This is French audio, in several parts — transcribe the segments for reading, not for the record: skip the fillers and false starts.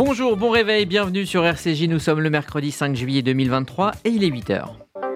Bonjour, bon réveil, bienvenue sur RCJ, nous sommes le mercredi 5 juillet 2023 et il est 8h.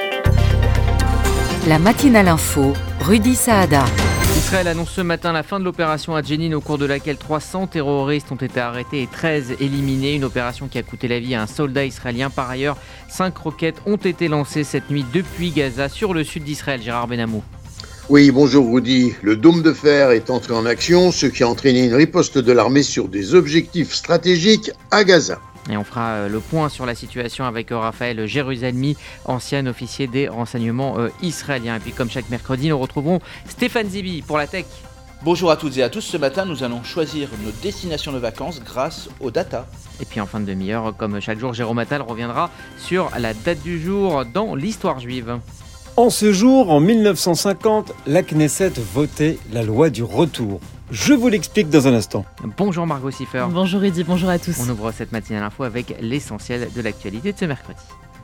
La matinale info, Rudy Saada. Israël annonce ce matin la fin de l'opération à Jenin au cours de laquelle 300 terroristes ont été arrêtés et 13 éliminés. Une opération qui a coûté la vie à un soldat israélien. Par ailleurs, 5 roquettes ont été lancées cette nuit depuis Gaza sur le sud d'Israël. Gérard Benamou. Oui, bonjour Rudy. Le dôme de fer est entré en action, ce qui a entraîné une riposte de l'armée sur des objectifs stratégiques à Gaza. Et on fera le point sur la situation avec Raphaël Jérusalemi, ancien officier des renseignements israéliens. Et puis comme chaque mercredi, nous retrouverons Stéphane Zibi pour la tech. Bonjour à toutes et à tous, ce matin nous allons choisir nos destinations de vacances grâce aux data. Et puis en fin de demi-heure, comme chaque jour, Jérôme Attal reviendra sur la date du jour dans l'histoire juive. En ce jour, en 1950, la Knesset votait la loi du retour. Je vous l'explique dans un instant. Bonjour Margot Siffer. Bonjour Rudy, bonjour à tous. On ouvre cette matinale info avec l'essentiel de l'actualité de ce mercredi.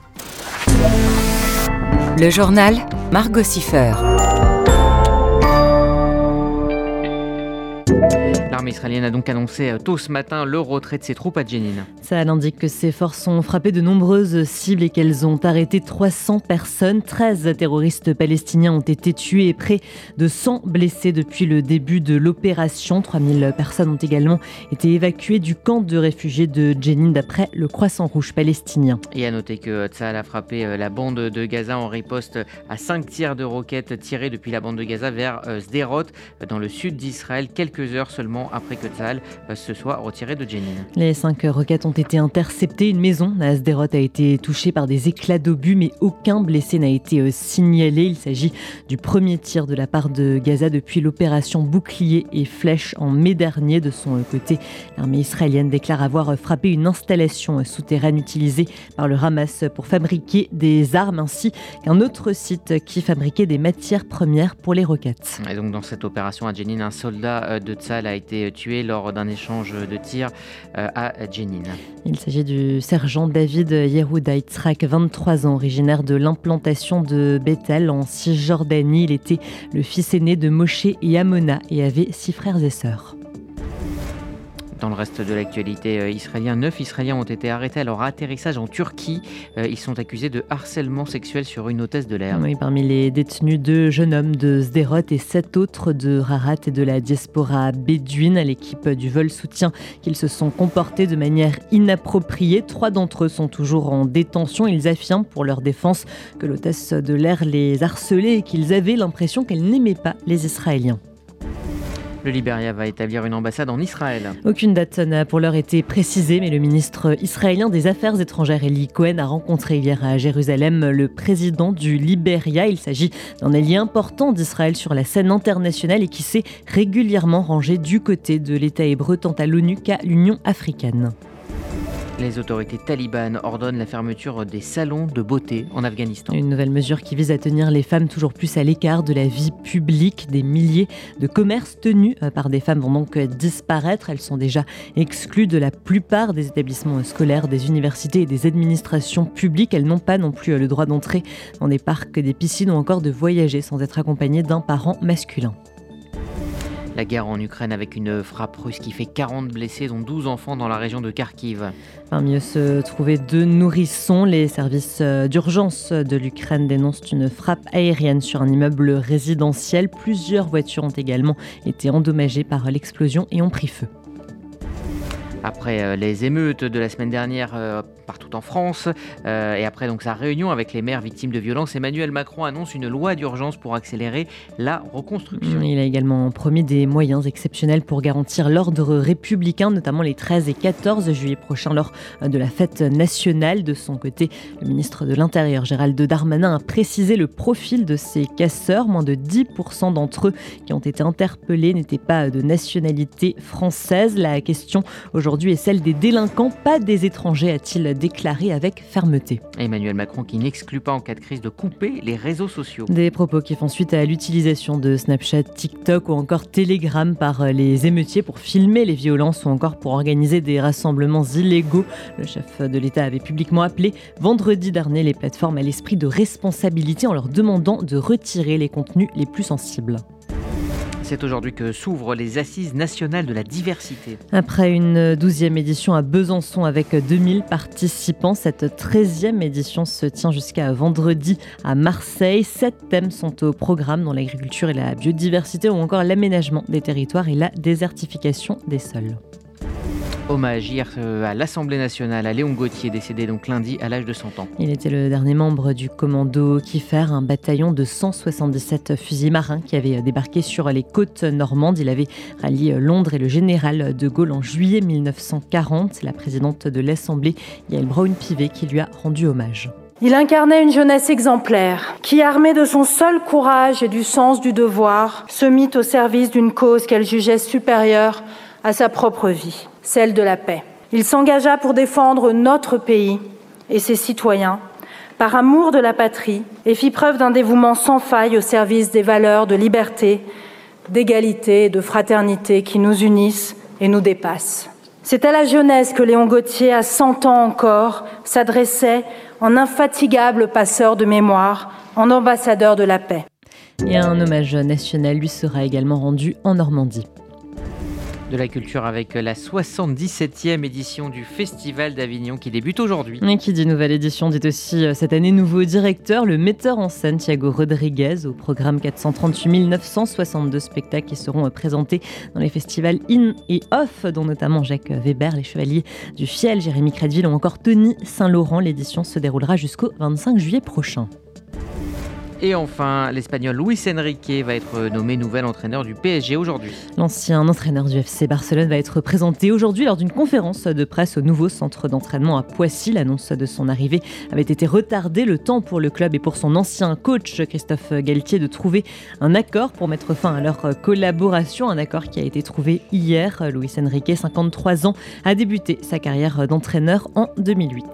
Le journal Margot Siffer. L'armée israélienne a donc annoncé tôt ce matin le retrait de ses troupes à Jenin. Ça indique que ses forces ont frappé de nombreuses cibles et qu'elles ont arrêté 300 personnes. 13 terroristes palestiniens ont été tués et près de 100 blessés depuis le début de l'opération. 3000 personnes ont également été évacuées du camp de réfugiés de Jenin d'après le Croissant Rouge palestinien. Et à noter que Tsahal a frappé la bande de Gaza en riposte à 5 tirs de roquettes tirés depuis la bande de Gaza vers Sderot dans le sud d'Israël, quelques heures seulement après que Tsahal se soit retiré de Jenin. Les 5 roquettes ont été interceptées. Une maison à Sderot a été touchée par des éclats d'obus, mais aucun blessé n'a été signalé. Il s'agit du premier tir de la part de Gaza depuis l'opération Bouclier et Flèche en mai dernier. De son côté, l'armée israélienne déclare avoir frappé une installation souterraine utilisée par le Hamas pour fabriquer des armes, ainsi qu'un autre site qui fabriquait des matières premières pour les roquettes. Et donc dans cette opération à Jenin, un soldat de Tsahal a été tué lors d'un échange de tirs à Jenin. Il s'agit du sergent David Yehuda Yitzhak, 23 ans, originaire de l'implantation de Bethel en Cisjordanie. Il était le fils aîné de Moshe et Amona et avait 6 frères et sœurs. Dans le reste de l'actualité israélienne, 9 Israéliens ont été arrêtés à leur atterrissage en Turquie. Ils sont accusés de harcèlement sexuel sur une hôtesse de l'air. Oui, parmi les détenus, 2 jeunes hommes de Sderot et 7 autres de Rarat et de la diaspora bédouine. L'équipe du vol soutient qu'ils se sont comportés de manière inappropriée. 3 d'entre eux sont toujours en détention. Ils affirment pour leur défense que l'hôtesse de l'air les harcelait et qu'ils avaient l'impression qu'elle n'aimait pas les Israéliens. Le Libéria va établir une ambassade en Israël. Aucune date n'a pour l'heure été précisée, mais le ministre israélien des Affaires étrangères, Eli Cohen, a rencontré hier à Jérusalem le président du Libéria. Il s'agit d'un allié important d'Israël sur la scène internationale et qui s'est régulièrement rangé du côté de l'État hébreu tant à l'ONU qu'à l'Union africaine. Les autorités talibanes ordonnent la fermeture des salons de beauté en Afghanistan. Une nouvelle mesure qui vise à tenir les femmes toujours plus à l'écart de la vie publique. Des milliers de commerces tenus par des femmes vont donc disparaître. Elles sont déjà exclues de la plupart des établissements scolaires, des universités et des administrations publiques. Elles n'ont pas non plus le droit d'entrer dans des parcs, des piscines ou encore de voyager sans être accompagnées d'un parent masculin. La guerre en Ukraine avec une frappe russe qui fait 40 blessés, dont 12 enfants dans la région de Kharkiv. Parmi eux se trouvaient 2 nourrissons. Les services d'urgence de l'Ukraine dénoncent une frappe aérienne sur un immeuble résidentiel. Plusieurs voitures ont également été endommagées par l'explosion et ont pris feu. Après les émeutes de la semaine dernière partout en France et après donc sa réunion avec les maires victimes de violences, Emmanuel Macron annonce une loi d'urgence pour accélérer la reconstruction. Il a également promis des moyens exceptionnels pour garantir l'ordre républicain, notamment les 13 et 14 juillet prochains lors de la fête nationale. De son côté, le ministre de l'Intérieur, Gérald Darmanin, a précisé le profil de ces casseurs. Moins de 10% d'entre eux qui ont été interpellés n'étaient pas de nationalité française. La question aujourd'hui est celle des délinquants, pas des étrangers, a-t-il déclaré avec fermeté. Emmanuel Macron qui n'exclut pas en cas de crise de couper les réseaux sociaux. Des propos qui font suite à l'utilisation de Snapchat, TikTok ou encore Telegram par les émeutiers pour filmer les violences ou encore pour organiser des rassemblements illégaux. Le chef de l'État avait publiquement appelé vendredi dernier les plateformes à l'esprit de responsabilité en leur demandant de retirer les contenus les plus sensibles. C'est aujourd'hui que s'ouvrent les Assises nationales de la diversité. Après une 12e édition à Besançon avec 2000 participants, cette 13e édition se tient jusqu'à vendredi à Marseille. 7 thèmes sont au programme, dont l'agriculture et la biodiversité ou encore l'aménagement des territoires et la désertification des sols. Hommage hier à l'Assemblée nationale à Léon Gauthier, décédé donc lundi à l'âge de 100 ans. Il était le dernier membre du commando Kiefer, un bataillon de 177 fusiliers marins qui avait débarqué sur les côtes normandes. Il avait rallié Londres et le général de Gaulle en juillet 1940. C'est la présidente de l'Assemblée, Yael Braun-Pivet, qui lui a rendu hommage. Il incarnait une jeunesse exemplaire qui, armée de son seul courage et du sens du devoir, se mit au service d'une cause qu'elle jugeait supérieure à sa propre vie, celle de la paix. Il s'engagea pour défendre notre pays et ses citoyens par amour de la patrie et fit preuve d'un dévouement sans faille au service des valeurs de liberté, d'égalité et de fraternité qui nous unissent et nous dépassent. C'est à la jeunesse que Léon Gauthier, à 100 ans encore, s'adressait en infatigable passeur de mémoire, en ambassadeur de la paix. Et un hommage national lui sera également rendu en Normandie. De la culture avec la 77e édition du Festival d'Avignon qui débute aujourd'hui. Et qui dit nouvelle édition dit aussi cette année nouveau directeur, le metteur en scène Thiago Rodriguez. Au programme 438 962 spectacles qui seront présentés dans les festivals In et Off, dont notamment Jacques Weber, les Chevaliers du Fiel, Jérémy Crédville ou encore Tony Saint-Laurent. L'édition se déroulera jusqu'au 25 juillet prochain. Et enfin, l'Espagnol Luis Enrique va être nommé nouvel entraîneur du PSG aujourd'hui. L'ancien entraîneur du FC Barcelone va être présenté aujourd'hui lors d'une conférence de presse au nouveau centre d'entraînement à Poissy. L'annonce de son arrivée avait été retardée, le temps pour le club et pour son ancien coach Christophe Galtier de trouver un accord pour mettre fin à leur collaboration. Un accord qui a été trouvé hier. Luis Enrique, 53 ans, a débuté sa carrière d'entraîneur en 2008.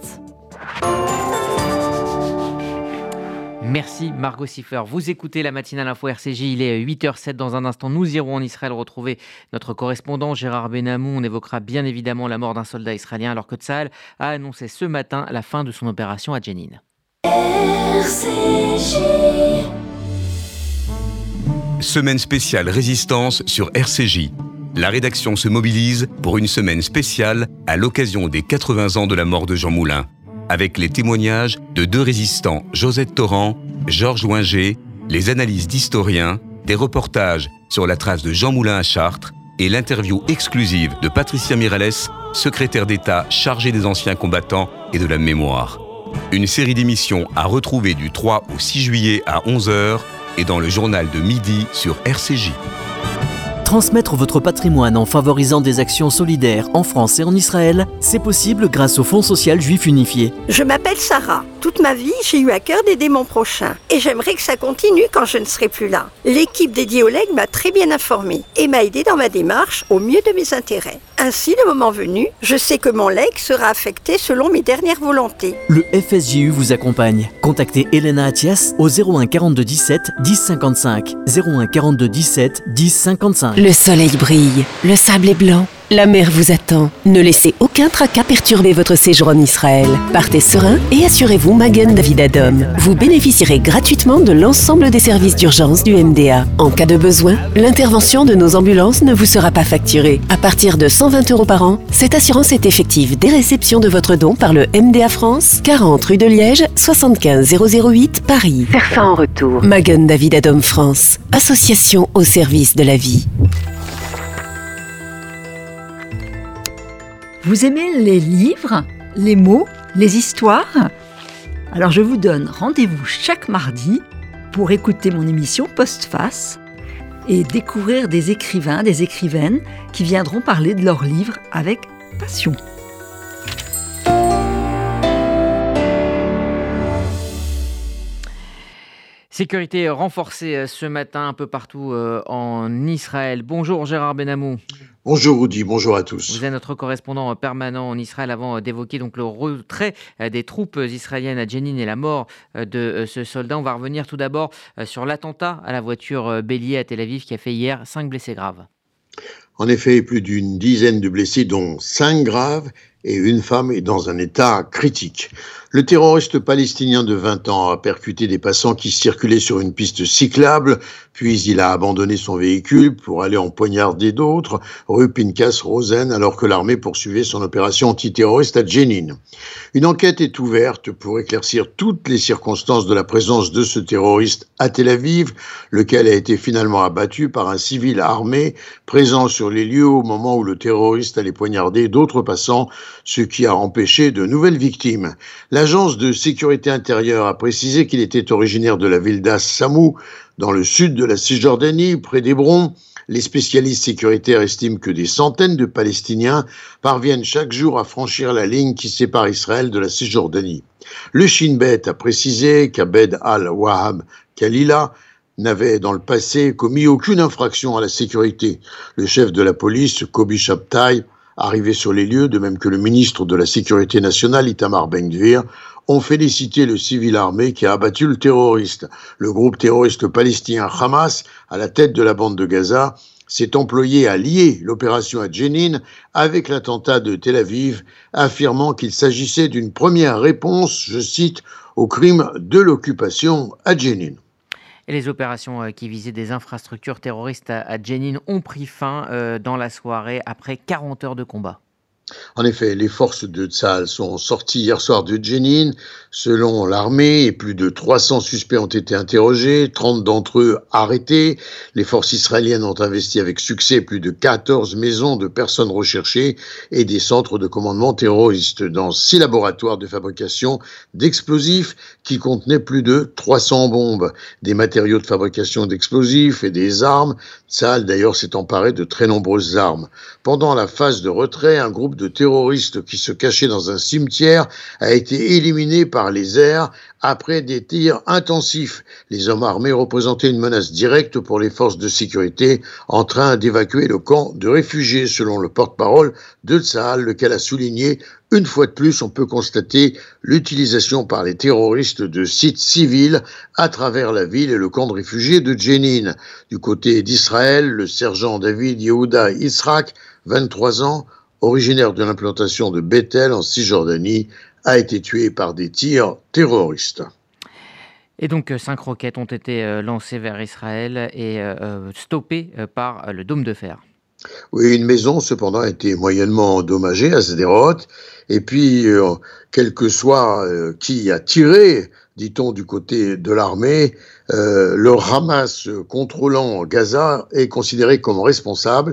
Merci Margot Siffer. Vous écoutez la matinale info RCJ, il est 8h07. Dans un instant, nous irons en Israël retrouver notre correspondant Gérard Benamou. On évoquera bien évidemment la mort d'un soldat israélien alors que Tsahal a annoncé ce matin la fin de son opération à Jenin. RCJ. Semaine spéciale résistance sur RCJ. La rédaction se mobilise pour une semaine spéciale à l'occasion des 80 ans de la mort de Jean Moulin, avec les témoignages de 2 résistants, Josette Torrent, Georges Loinger, les analyses d'historiens, des reportages sur la trace de Jean Moulin à Chartres et l'interview exclusive de Patricia Miralles, secrétaire d'État chargée des anciens combattants et de la mémoire. Une série d'émissions à retrouver du 3 au 6 juillet à 11h et dans le journal de midi sur RCJ. Transmettre votre patrimoine en favorisant des actions solidaires en France et en Israël, c'est possible grâce au Fonds social juif unifié. Je m'appelle Sarah. Toute ma vie, j'ai eu à cœur d'aider mon prochain. Et j'aimerais que ça continue quand je ne serai plus là. L'équipe dédiée au legs m'a très bien informée et m'a aidée dans ma démarche au mieux de mes intérêts. Ainsi, le moment venu, je sais que mon leg sera affecté selon mes dernières volontés. Le FSJU vous accompagne. Contactez Elena Attias au 01 42 17 10 55. 01 42 17 10 55. Le soleil brille, le sable est blanc, la mer vous attend. Ne laissez aucun tracas perturber votre séjour en Israël. Partez serein et assurez-vous Magen David Adom. Vous bénéficierez gratuitement de l'ensemble des services d'urgence du MDA. En cas de besoin, l'intervention de nos ambulances ne vous sera pas facturée. À partir de 120 € par an, cette assurance est effective dès réception de votre don par le MDA France, 40 rue de Liège, 75 008 Paris. Faire ça en retour. Magen David Adom France, association au service de la vie. Vous aimez les livres, les mots, les histoires ? Alors je vous donne rendez-vous chaque mardi pour écouter mon émission Postface et découvrir des écrivains, des écrivaines qui viendront parler de leurs livres avec passion. Sécurité renforcée ce matin un peu partout en Israël. Bonjour Gérard Benamou. Bonjour Rudy, bonjour à tous. Vous êtes notre correspondant permanent en Israël avant d'évoquer donc le retrait des troupes israéliennes à Jenin et la mort de ce soldat. On va revenir tout d'abord sur l'attentat à la voiture bélier à Tel Aviv qui a fait hier 5 blessés graves. En effet, plus d'une dizaine de blessés, dont 5 graves, et une femme est dans un état critique. Le terroriste palestinien de 20 ans a percuté des passants qui circulaient sur une piste cyclable, Puis il a abandonné son véhicule pour aller en poignarder d'autres, rue Pinkas Rosen, alors que l'armée poursuivait son opération antiterroriste à Jenin. Une enquête est ouverte pour éclaircir toutes les circonstances de la présence de ce terroriste à Tel Aviv, lequel a été finalement abattu par un civil armé présent sur les lieux au moment où le terroriste allait poignarder d'autres passants, ce qui a empêché de nouvelles victimes. L'agence de sécurité intérieure a précisé qu'il était originaire de la ville d'As-Samou, dans le sud de la Cisjordanie, près d'Hébron. Les spécialistes sécuritaires estiment que des centaines de Palestiniens parviennent chaque jour à franchir la ligne qui sépare Israël de la Cisjordanie. Le Shin Bet a précisé qu'Abed al-Wahab Khalila n'avait dans le passé commis aucune infraction à la sécurité. Le chef de la police, Kobi Shabtai, arrivé sur les lieux, de même que le ministre de la Sécurité nationale, Itamar Ben-Gvir, ont félicité le civil armé qui a abattu le terroriste. Le groupe terroriste palestinien Hamas, à la tête de la bande de Gaza, s'est employé à lier l'opération à Jenin avec l'attentat de Tel Aviv, affirmant qu'il s'agissait d'une première réponse, je cite, au crime de l'occupation à Jenin. Et les opérations qui visaient des infrastructures terroristes à Jenin ont pris fin dans la soirée après 40 heures de combat. En effet, les forces de Tsahal sont sorties hier soir de Jenin. Selon l'armée, et plus de 300 suspects ont été interrogés, 30 d'entre eux arrêtés. Les forces israéliennes ont investi avec succès plus de 14 maisons de personnes recherchées et des centres de commandement terroristes dans 6 laboratoires de fabrication d'explosifs qui contenaient plus de 300 bombes, des matériaux de fabrication d'explosifs et des armes. Tsahal d'ailleurs s'est emparé de très nombreuses armes. Pendant la phase de retrait, un groupe de terroristes qui se cachaient dans un cimetière a été éliminé par les airs après des tirs intensifs. Les hommes armés représentaient une menace directe pour les forces de sécurité en train d'évacuer le camp de réfugiés, selon le porte-parole de Tsahal, lequel a souligné une fois de plus, on peut constater l'utilisation par les terroristes de sites civils à travers la ville et le camp de réfugiés de Jenin. Du côté d'Israël, le sergent David Yehuda Yitzhak, 23 ans, originaire de l'implantation de Bethel en Cisjordanie, a été tué par des tirs terroristes. Et donc 5 roquettes ont été lancées vers Israël et stoppées par le dôme de fer. Oui, une maison cependant a été moyennement endommagée à Sderot. Et puis, quel que soit qui a tiré, dit-on du côté de l'armée, le Hamas contrôlant Gaza est considéré comme responsable.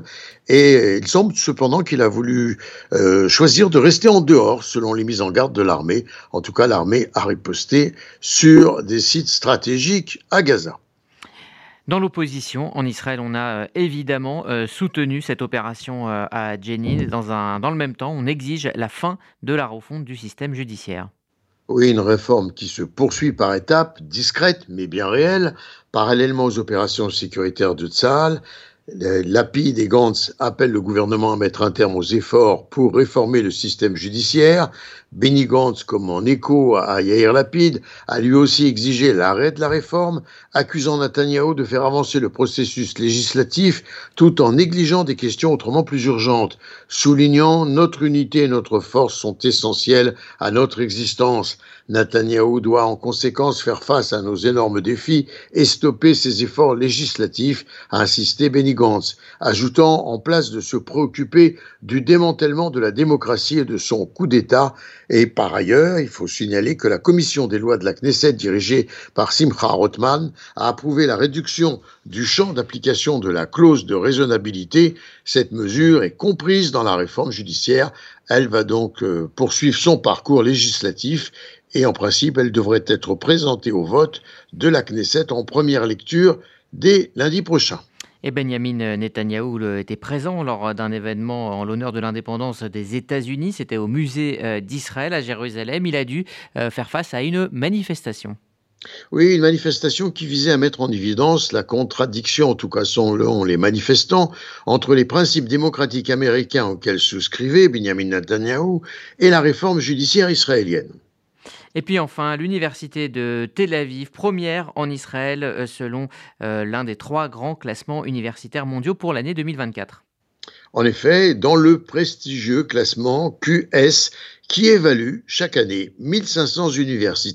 Et il semble cependant qu'il a voulu choisir de rester en dehors, selon les mises en garde de l'armée. En tout cas, l'armée a riposté sur des sites stratégiques à Gaza. Dans l'opposition, en Israël, on a évidemment soutenu cette opération à Jenin. Dans le même temps, on exige la fin de la refonte du système judiciaire. Oui, une réforme qui se poursuit par étapes, discrètes mais bien réelles, parallèlement aux opérations sécuritaires de Tsahal. Lapid et Gantz appellent le gouvernement à mettre un terme aux efforts pour réformer le système judiciaire. Benny Gantz, comme en écho à Yair Lapid, a lui aussi exigé l'arrêt de la réforme, accusant Netanyahou de faire avancer le processus législatif tout en négligeant des questions autrement plus urgentes, soulignant notre unité et notre force sont essentielles à notre existence. Netanyahou doit en conséquence faire face à nos énormes défis et stopper ses efforts législatifs, a insisté Benny Gantz, ajoutant en place de se préoccuper du démantèlement de la démocratie et de son coup d'État. Et par ailleurs, il faut signaler que la commission des lois de la Knesset, dirigée par Simcha Rothman, a approuvé la réduction du champ d'application de la clause de raisonnabilité. Cette mesure est comprise dans la réforme judiciaire. Elle va donc poursuivre son parcours législatif et en principe, elle devrait être présentée au vote de la Knesset en première lecture dès lundi prochain. Et Benjamin Netanyahou était présent lors d'un événement en l'honneur de l'indépendance des États-Unis. C'était au musée d'Israël à Jérusalem. Il a dû faire face à une manifestation. Oui, une manifestation qui visait à mettre en évidence la contradiction, en tout cas selon les manifestants, entre les principes démocratiques américains auxquels souscrivait Benjamin Netanyahou et la réforme judiciaire israélienne. Et puis enfin, l'université de Tel Aviv, première en Israël selon l'un des 3 grands classements universitaires mondiaux pour l'année 2024. En effet, dans le prestigieux classement QS qui évalue chaque année 1500 universités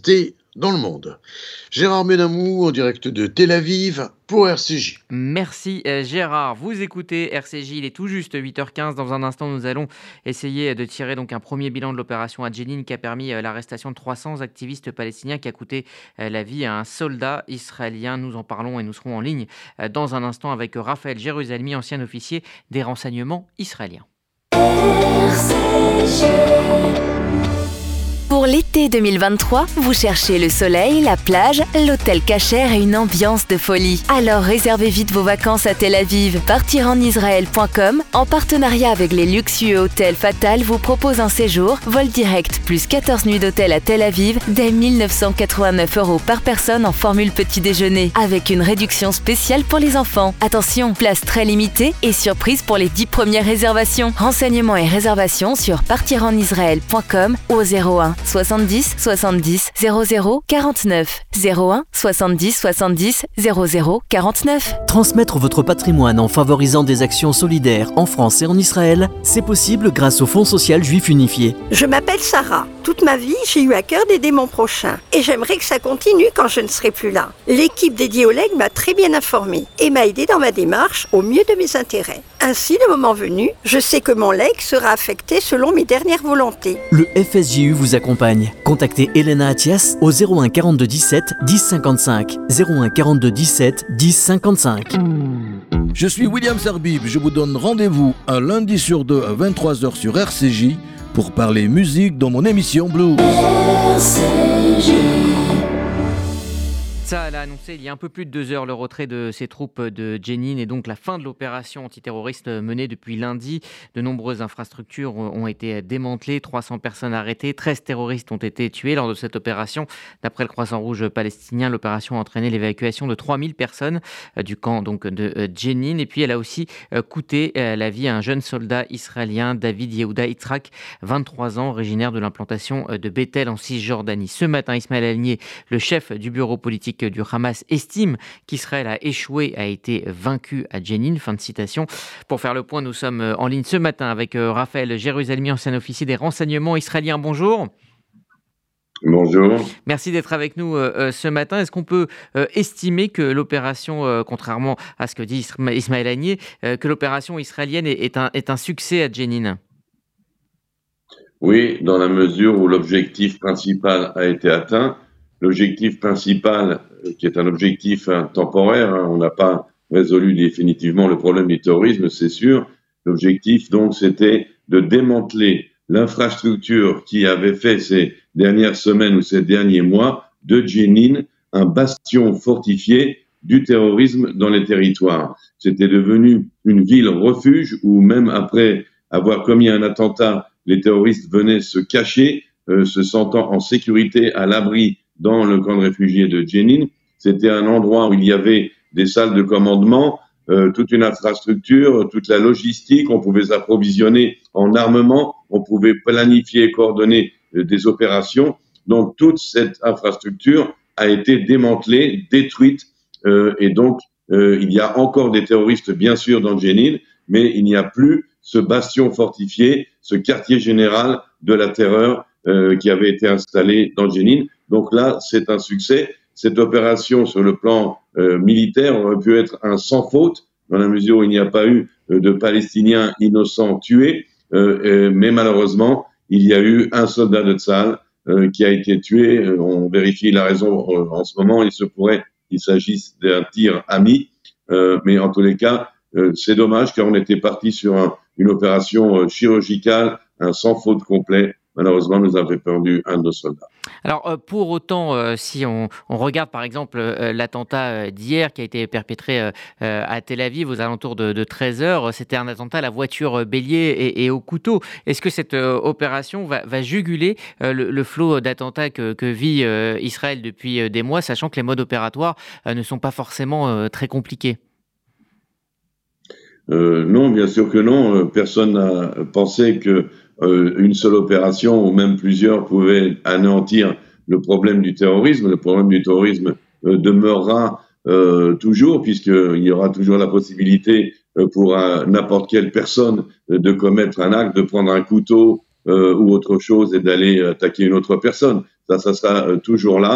dans le monde. Gérard Benamou en direct de Tel Aviv pour RCJ. Merci Gérard. Vous écoutez RCJ, il est tout juste 8h15. Dans un instant, nous allons essayer de tirer donc un premier bilan de l'opération à Jenin qui a permis l'arrestation de 300 activistes palestiniens qui a coûté la vie à un soldat israélien. Nous en parlons et nous serons en ligne dans un instant avec Raphaël Jérusalemi, ancien officier des renseignements israéliens. RCJ. Pour l'été 2023, vous cherchez le soleil, la plage, l'hôtel Cacher et une ambiance de folie. Alors réservez vite vos vacances à Tel Aviv. Partirenisraël.com, en partenariat avec les luxueux hôtels Fatal, vous propose un séjour, vol direct, plus 14 nuits d'hôtel à Tel Aviv, dès 1 989 € par personne en formule petit déjeuner, avec une réduction spéciale pour les enfants. Attention, place très limitée et surprise pour les 10 premières réservations. Renseignements et réservations sur partirenisraël.com au 01 70 70 00 49 01 70 70 00 49. Transmettre votre patrimoine en favorisant des actions solidaires en France et en Israël, c'est possible grâce au Fonds social juif unifié. Je m'appelle Sarah. Toute ma vie, j'ai eu à cœur d'aider mon prochain. Et j'aimerais que ça continue quand je ne serai plus là. L'équipe dédiée aux legs m'a très bien informée et m'a aidé dans ma démarche au mieux de mes intérêts. Ainsi, le moment venu, je sais que mon leg sera affecté selon mes dernières volontés. Le FSJU vous accompagne. Contactez Elena Atias au 01 42 17 10 55. 01 42 17 10 55. Je suis William Sarbib. Je vous donne rendez-vous un lundi sur deux à 23h sur RCJ pour parler musique dans mon émission Blues. RCJ. Tsahal a annoncé il y a un peu plus de 2 heures le retrait de ses troupes de Jenin et donc la fin de l'opération antiterroriste menée depuis lundi. De nombreuses infrastructures ont été démantelées, 300 personnes arrêtées, 13 terroristes ont été tués lors de cette opération. D'après le Croissant-Rouge palestinien, l'opération a entraîné l'évacuation de 3000 personnes du camp donc, de Jenin. Et puis elle a aussi coûté la vie à un jeune soldat israélien, David Yehuda Yitzhak, 23 ans, originaire de l'implantation de Bethel en Cisjordanie. Ce matin, Ismaël Haniyeh, le chef du bureau politique du Hamas, estime qu'Israël a échoué, a été vaincu à Jenin. Fin de citation. Pour faire le point, nous sommes en ligne ce matin avec Raphaël Jérusalemi, ancien officier des renseignements israéliens. Bonjour. Bonjour. Merci d'être avec nous ce matin. Est-ce qu'on peut estimer que l'opération, contrairement à ce que dit Ismaël Haniyeh, que l'opération israélienne est un succès à Jenin ? Oui, dans la mesure où l'objectif principal a été atteint. L'objectif principal, qui est un objectif temporaire, on n'a pas résolu définitivement le problème du terrorisme, c'est sûr. L'objectif, donc, c'était de démanteler l'infrastructure qui avait fait ces dernières semaines ou ces derniers mois de Jenin un bastion fortifié du terrorisme dans les territoires. C'était devenu une ville refuge où même après avoir commis un attentat, les terroristes venaient se cacher, se sentant en sécurité à l'abri dans le camp de réfugiés de Jenin. C'était un endroit où il y avait des salles de commandement, toute une infrastructure, toute la logistique, on pouvait s'approvisionner en armement, on pouvait planifier et coordonner des opérations. Donc toute cette infrastructure a été démantelée, détruite, et donc il y a encore des terroristes bien sûr dans Jenin, mais il n'y a plus ce bastion fortifié, ce quartier général de la terreur qui avait été installé dans Jenin. Donc là, c'est un succès. Cette opération, sur le plan militaire, aurait pu être un sans faute, dans la mesure où il n'y a pas eu de Palestiniens innocents tués. Mais malheureusement, il y a eu un soldat de Tsahal qui a été tué. On vérifie la raison en ce moment. Il se pourrait qu'il s'agisse d'un tir ami. Mais en tous les cas, c'est dommage car on était parti sur une opération chirurgicale, un sans faute complet. Malheureusement, nous avons perdu un de nos soldats. Alors, pour autant, si on regarde par exemple l'attentat d'hier qui a été perpétré à Tel Aviv aux alentours de 13h, c'était un attentat à la voiture bélier et au couteau. Est-ce que cette opération va juguler le flot d'attentats que vit Israël depuis des mois, sachant que les modes opératoires ne sont pas forcément très compliqués ? Non, bien sûr que non. Personne n'a pensé que une seule opération ou même plusieurs pouvaient anéantir le problème du terrorisme. Le problème du terrorisme demeurera toujours, puisqu'il y aura toujours la possibilité pour n'importe quelle personne de commettre un acte, de prendre un couteau ou autre chose et d'aller attaquer une autre personne. Ça sera toujours là.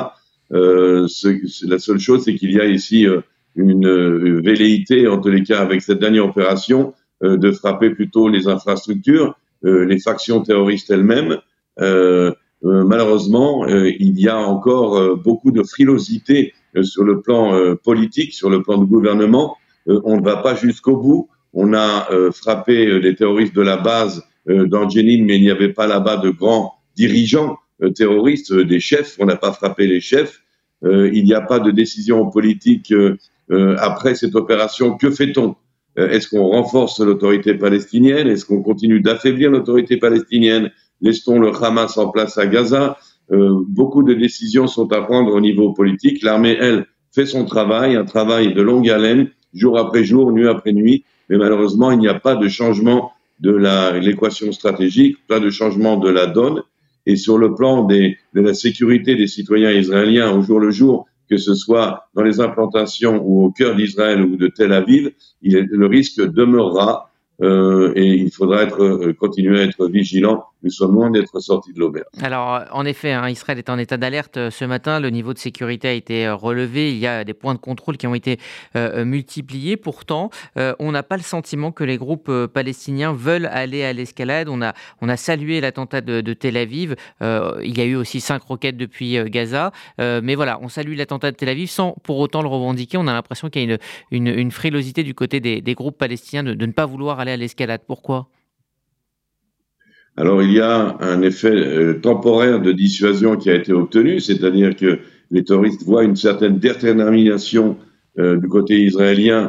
La seule chose, c'est qu'il y a ici une velléité, en tous les cas avec cette dernière opération, de frapper plutôt les infrastructures, les factions terroristes elles-mêmes. Malheureusement, il y a encore beaucoup de frilosité sur le plan politique, sur le plan du gouvernement. On ne va pas jusqu'au bout. On a frappé les terroristes de la base dans Jenin, mais il n'y avait pas là-bas de grands dirigeants terroristes, des chefs. On n'a pas frappé les chefs. Il n'y a pas de décision politique après cette opération. Que fait-on? Est-ce qu'on renforce l'autorité palestinienne? Est-ce qu'on continue d'affaiblir l'autorité palestinienne? Laisse-t-on le Hamas en place à Gaza? Beaucoup de décisions sont à prendre au niveau politique. L'armée, elle, fait son travail, un travail de longue haleine, jour après jour, nuit après nuit. Mais malheureusement, il n'y a pas de changement de l'équation stratégique, pas de changement de la donne. Et sur le plan de la sécurité des citoyens israéliens au jour le jour, que ce soit dans les implantations ou au cœur d'Israël ou de Tel Aviv, le risque demeurera et il faudra continuer à être vigilant. Nous sommes loin d'être sortis de l'auberge. Alors, en effet, Israël est en état d'alerte ce matin. Le niveau de sécurité a été relevé. Il y a des points de contrôle qui ont été multipliés. Pourtant, on n'a pas le sentiment que les groupes palestiniens veulent aller à l'escalade. On a salué l'attentat de Tel Aviv. Il y a eu aussi 5 roquettes depuis Gaza. Mais voilà, on salue l'attentat de Tel Aviv sans pour autant le revendiquer. On a l'impression qu'il y a une frilosité du côté des groupes palestiniens de ne pas vouloir aller à l'escalade. Pourquoi ? Alors, il y a un effet temporaire de dissuasion qui a été obtenu, c'est-à-dire que les terroristes voient une certaine détermination du côté israélien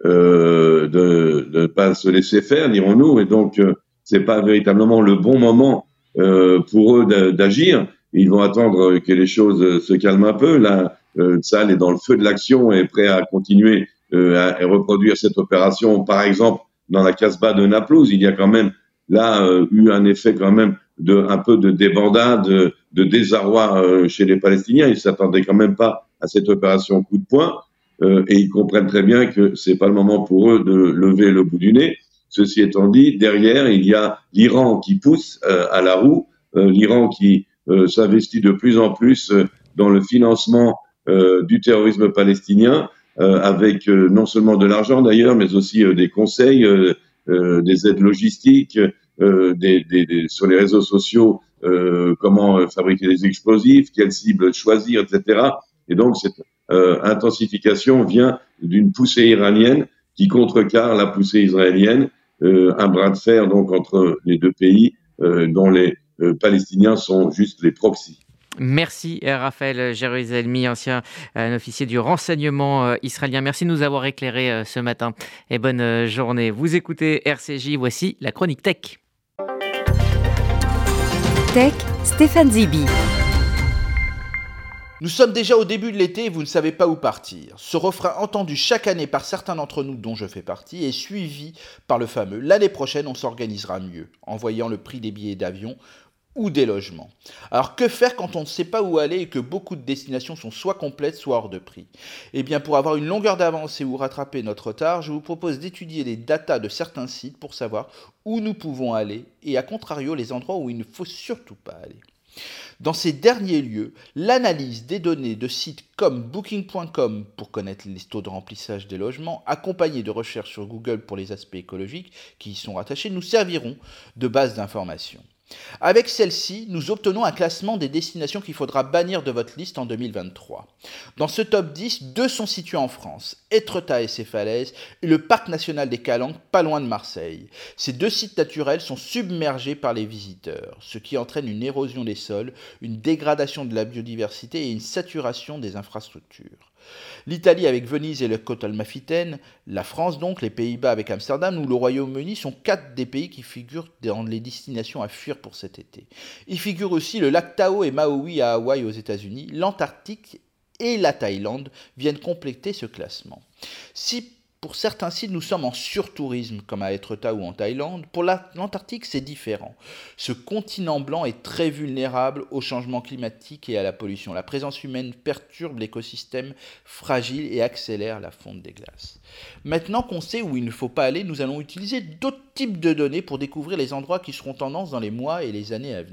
de ne pas se laisser faire, dirons-nous, et donc c'est pas véritablement le bon moment pour eux d'agir. Ils vont attendre que les choses se calment un peu. Là, Tsahal est dans le feu de l'action et prêt à continuer à reproduire cette opération. Par exemple, dans la Casbah de Naplouse, il y a quand même là eu un effet quand même un peu de débandade, de désarroi chez les Palestiniens. Ils s'attendaient quand même pas à cette opération coup de poing et ils comprennent très bien que c'est pas le moment pour eux de lever le bout du nez. Ceci étant dit, derrière il y a l'Iran qui pousse à la roue, l'Iran qui s'investit de plus en plus dans le financement du terrorisme palestinien avec non seulement de l'argent d'ailleurs, mais aussi des conseils. Des aides logistiques, sur les réseaux sociaux, comment fabriquer des explosifs, quelles cibles choisir, etc. Et donc, cette intensification vient d'une poussée iranienne qui contrecarre la poussée israélienne, un bras de fer donc entre les deux pays dont les Palestiniens sont juste les proxys. Merci Raphaël Jérusalemi, ancien officier du renseignement israélien. Merci de nous avoir éclairés ce matin et bonne journée. Vous écoutez RCJ, voici la chronique Tech. Tech, Stéphane Zibi. Nous sommes déjà au début de l'été et vous ne savez pas où partir. Ce refrain entendu chaque année par certains d'entre nous, dont je fais partie, est suivi par le fameux « L'année prochaine, on s'organisera mieux » en voyant le prix des billets d'avion ou des logements. Alors que faire quand on ne sait pas où aller et que beaucoup de destinations sont soit complètes, soit hors de prix? Eh bien, pour avoir une longueur d'avance et ou rattraper notre retard, je vous propose d'étudier les datas de certains sites pour savoir où nous pouvons aller et à contrario les endroits où il ne faut surtout pas aller. Dans ces derniers lieux, l'analyse des données de sites comme Booking.com pour connaître les taux de remplissage des logements, accompagnés de recherches sur Google pour les aspects écologiques qui y sont rattachés, nous serviront de base d'information. Avec celle-ci, nous obtenons un classement des destinations qu'il faudra bannir de votre liste en 2023. Dans ce top 10, 2 sont situés en France, Étretat et ses falaises, et le parc national des Calanques, pas loin de Marseille. Ces 2 sites naturels sont submergés par les visiteurs, ce qui entraîne une érosion des sols, une dégradation de la biodiversité et une saturation des infrastructures. L'Italie avec Venise et le côte amalfitaine, la France donc, les Pays-Bas avec Amsterdam ou le Royaume-Uni sont 4 des pays qui figurent dans les destinations à fuir pour cet été. Il figure aussi le lac Tahoe et Maui à Hawaï aux États-Unis, l'Antarctique et la Thaïlande viennent compléter ce classement. Si pour certains sites, nous sommes en surtourisme, comme à Étretat ou en Thaïlande. Pour l'Antarctique, c'est différent. Ce continent blanc est très vulnérable au changement climatique et à la pollution. La présence humaine perturbe l'écosystème fragile et accélère la fonte des glaces. Maintenant qu'on sait où il ne faut pas aller, nous allons utiliser d'autres types de données pour découvrir les endroits qui seront tendance dans les mois et les années à venir.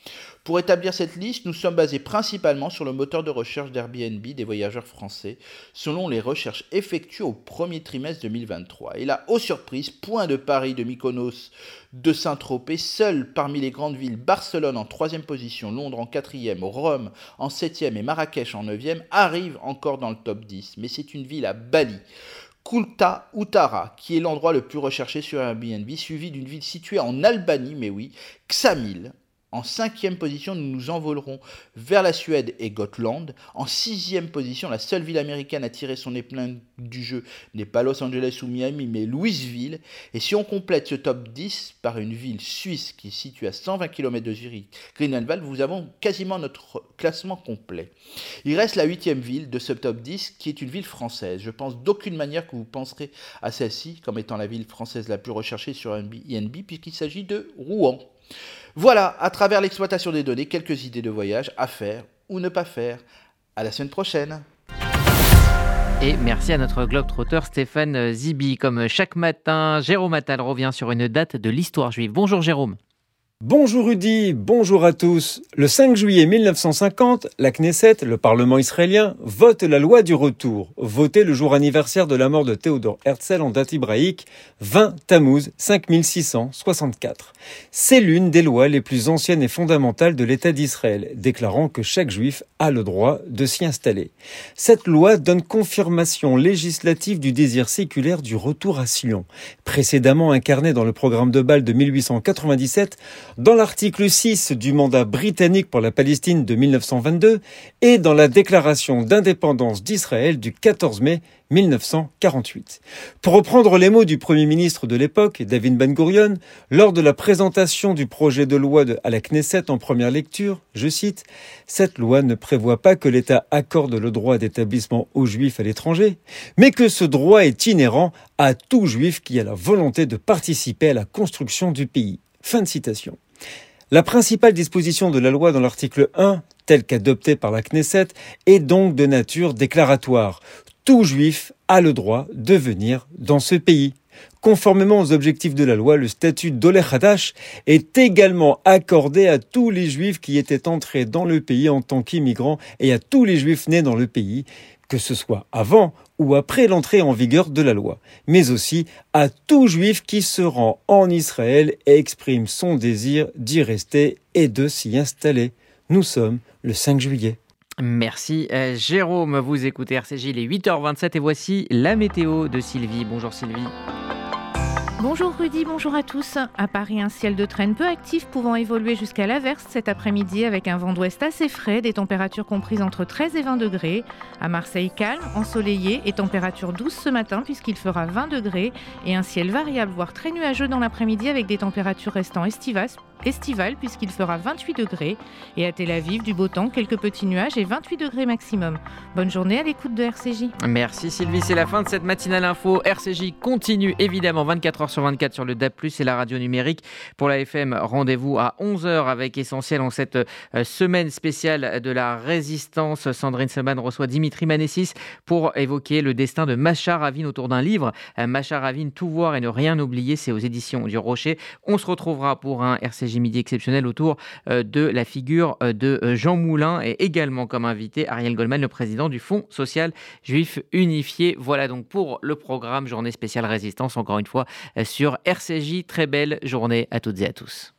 Pour établir cette liste, nous sommes basés principalement sur le moteur de recherche d'Airbnb des voyageurs français, selon les recherches effectuées au premier trimestre 2023. Et là, aux surprises, point de Paris, de Mykonos, de Saint-Tropez, seul parmi les grandes villes, Barcelone en 3e position, Londres en 4e, Rome en 7e et Marrakech en 9e, arrivent encore dans le top 10. Mais c'est une ville à Bali, Kulta Utara, qui est l'endroit le plus recherché sur Airbnb, suivi d'une ville située en Albanie, mais oui, Ksamil. En 5e position, nous nous envolerons vers la Suède et Gotland. En 6e position, la seule ville américaine à tirer son épingle du jeu n'est pas Los Angeles ou Miami, mais Louisville. Et si on complète ce top 10 par une ville suisse qui est située à 120 km de Zurich, Grünwald, vous avons quasiment notre classement complet. Il reste la 8e ville de ce top 10 qui est une ville française. Je pense d'aucune manière que vous penserez à celle-ci comme étant la ville française la plus recherchée sur Airbnb puisqu'il s'agit de Rouen. Voilà, à travers l'exploitation des données, quelques idées de voyage à faire ou ne pas faire. À la semaine prochaine. Et merci à notre globetrotter Stéphane Zibi. Comme chaque matin, Jérôme Attal revient sur une date de l'histoire juive. Bonjour Jérôme. Bonjour Rudy, bonjour à tous. Le 5 juillet 1950, la Knesset, le Parlement israélien, vote la loi du retour, votée le jour anniversaire de la mort de Théodore Herzl en date hébraïque, 20 Tammuz 5664. C'est l'une des lois les plus anciennes et fondamentales de l'État d'Israël, déclarant que chaque juif a le droit de s'y installer. Cette loi donne confirmation législative du désir séculaire du retour à Sion, précédemment incarné dans le programme de Bâle de 1897, dans l'article 6 du mandat britannique pour la Palestine de 1922 et dans la déclaration d'indépendance d'Israël du 14 mai 1948. Pour reprendre les mots du Premier ministre de l'époque, David Ben Gurion, lors de la présentation du projet de loi à la Knesset en première lecture, je cite, « Cette loi ne prévoit pas que l'État accorde le droit d'établissement aux Juifs à l'étranger, mais que ce droit est inhérent à tout Juif qui a la volonté de participer à la construction du pays. » Fin de citation. La principale disposition de la loi dans l'article 1, telle qu'adoptée par la Knesset, est donc de nature déclaratoire. Tout juif a le droit de venir dans ce pays. Conformément aux objectifs de la loi, le statut d'Oleh Hadash est également accordé à tous les juifs qui étaient entrés dans le pays en tant qu'immigrants et à tous les juifs nés dans le pays, que ce soit avant ou après l'entrée en vigueur de la loi, mais aussi à tout juif qui se rend en Israël et exprime son désir d'y rester et de s'y installer. Nous sommes le 5 juillet. Merci Jérôme, vous écoutez RCJ, il est 8h27 et voici la météo de Sylvie. Bonjour Sylvie. Bonjour Rudy, bonjour à tous. À Paris, un ciel de traîne peu actif pouvant évoluer jusqu'à l'averse cet après-midi avec un vent d'ouest assez frais, des températures comprises entre 13 et 20 degrés. À Marseille, calme, ensoleillé et température douce ce matin puisqu'il fera 20 degrés et un ciel variable voire très nuageux dans l'après-midi avec des températures restant estivales puisqu'il fera 28 degrés. Et à Tel Aviv, du beau temps, quelques petits nuages et 28 degrés maximum. Bonne journée à l'écoute de RCJ. Merci Sylvie, c'est la fin de cette matinale info. RCJ continue évidemment 24h sur 24 sur le DAB+, et la radio numérique. Pour la FM, rendez-vous à 11h avec Essentiel en cette semaine spéciale de la résistance. Sandrine Seban reçoit Dimitri Manessis pour évoquer le destin de Macha Ravin autour d'un livre. Macha Ravin, Tout voir et ne rien oublier, c'est aux éditions du Rocher. On se retrouvera pour un RCJ Midi exceptionnel autour de la figure de Jean Moulin et également comme invité Ariel Goldman, le président du Fonds social juif unifié. Voilà donc pour le programme Journée spéciale résistance, encore une fois sur RCJ. Très belle journée à toutes et à tous.